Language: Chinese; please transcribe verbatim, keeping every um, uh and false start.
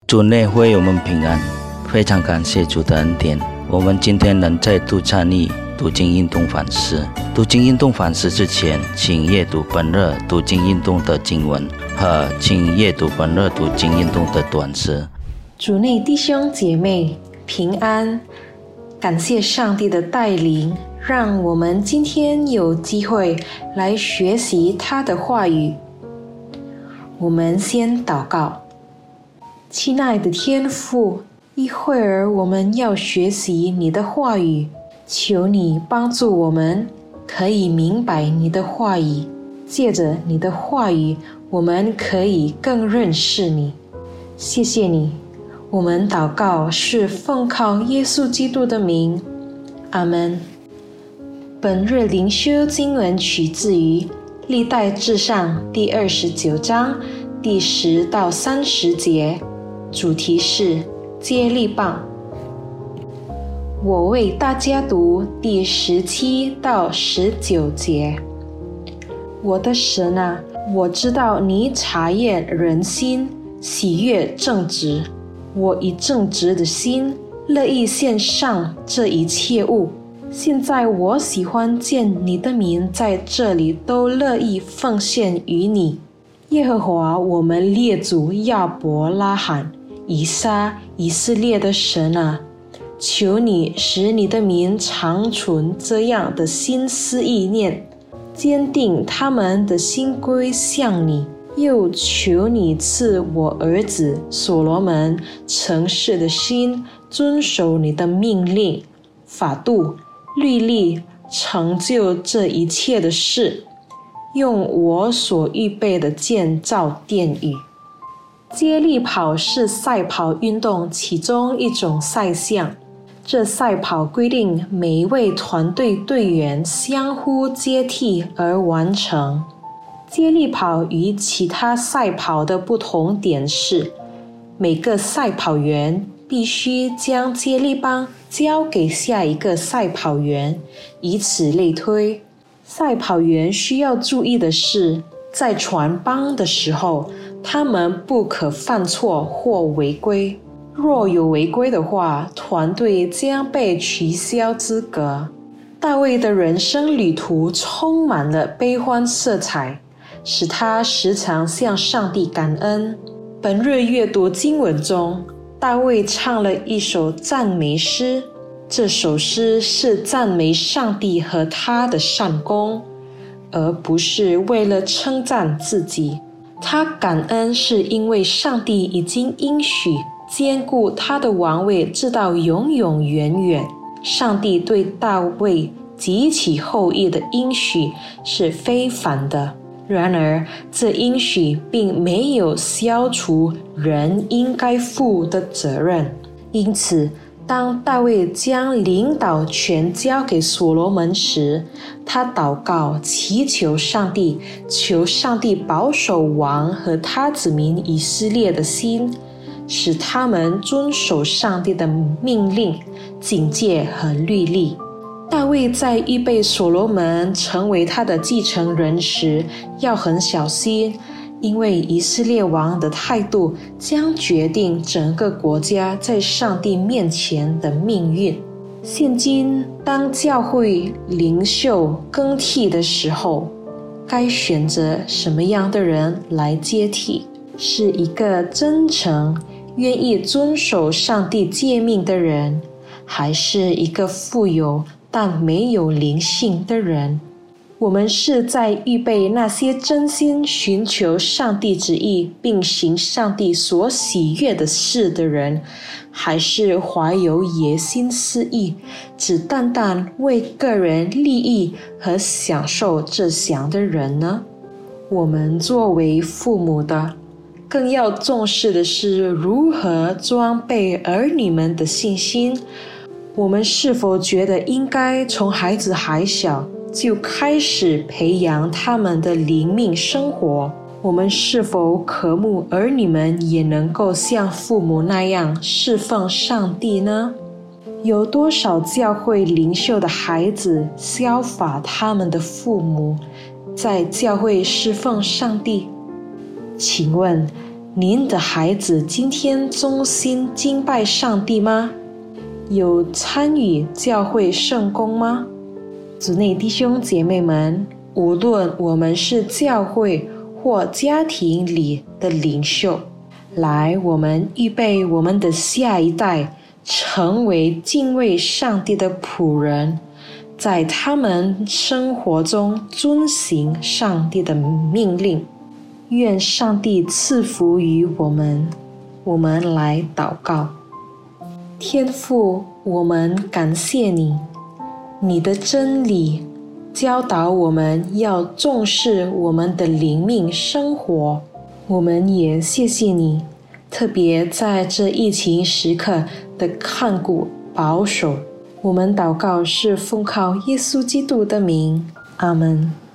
主内会友们平安，非常感谢主的恩典。我们今天能再度参与读经运动反思。读经运动反思之前，请阅读本日读经运动的经文和请阅读本日读经运动的短诗。 主内弟兄姐妹平安，感谢上帝的带领，让我们今天有机会来学习他的话语。我们先祷告。亲爱的天父，一会儿我们要学习你的话语，求你帮助我们可以明白你的话语，借着你的话语我们可以更认识你。谢谢你，我们祷告是奉靠耶稣基督的名，阿们。本日灵修经文取自于历代志上第二十九章第十到三十节，主题是接力棒。我为大家读第十七到十九节。我的神啊，我知道你察验人心，喜悦正直。我以正直的心乐意献上这一切物。现在我喜欢见你的民在这里都乐意奉献于你。耶和华我们列祖亚伯拉罕、以撒、以色列的神啊，求你使你的民长存这样的心思意念，坚定他们的心归向你。又求你赐我儿子所罗门诚实的心，遵守你的命令、法度、律例，成就这一切的事，用我所预备的建造殿宇。接力跑是赛跑运动其中一种赛项，这赛跑规定每一位团队队员相互接替而完成。接力跑与其他赛跑的不同点是，每个赛跑员必须将接力棒交给下一个赛跑员，以此类推。赛跑员需要注意的是，在传棒的时候，他们不可犯错或违规。若有违规的话，团队将被取消资格。大卫的人生旅途充满了悲欢色彩，使他时常向上帝感恩。本日阅读经文中，大卫唱了一首赞美诗，这首诗是赞美上帝和他的善功，而不是为了称赞自己。他感恩是因为上帝已经应许坚固他的王位直到永永远远。上帝对大卫及其后裔的应许是非凡的，然而这应许并没有消除人应该负的责任。因此当大卫将领导权交给所罗门时，他祷告祈求上帝，求上帝保守王和他子民以色列的心，使他们遵守上帝的命令、警戒和律例。大卫在预备所罗门成为他的继承人时，要很小心，因为以色列王的态度将决定整个国家在上帝面前的命运。现今当教会领袖更替的时候，该选择什么样的人来接替？是一个真诚、愿意遵守上帝诫命的人，还是一个富有但没有灵性的人？我们是在预备那些真心寻求上帝旨意并行上帝所喜悦的事的人，还是怀有野心私意，只单单为个人利益和享受这项的人呢？我们作为父母的，更要重视的是如何装备儿女们的信心。我们是否觉得应该从孩子还小就开始培养他们的灵命生活？我们是否渴慕儿女们也能够像父母那样侍奉上帝呢？有多少教会领袖的孩子效法他们的父母，在教会侍奉上帝？请问您的孩子今天衷心敬拜上帝吗？有参与教会圣工吗？主内弟兄姐妹们，无论我们是教会或家庭里的领袖，来，我们预备我们的下一代成为敬畏上帝的仆人，在他们生活中遵行上帝的命令。愿上帝赐福于我们。我们来祷告。天父，我们感谢你，你的真理教导我们要重视我们的灵命生活。我们也谢谢你，特别在这疫情时刻的看顾保守。我们祷告是奉靠耶稣基督的名，阿们。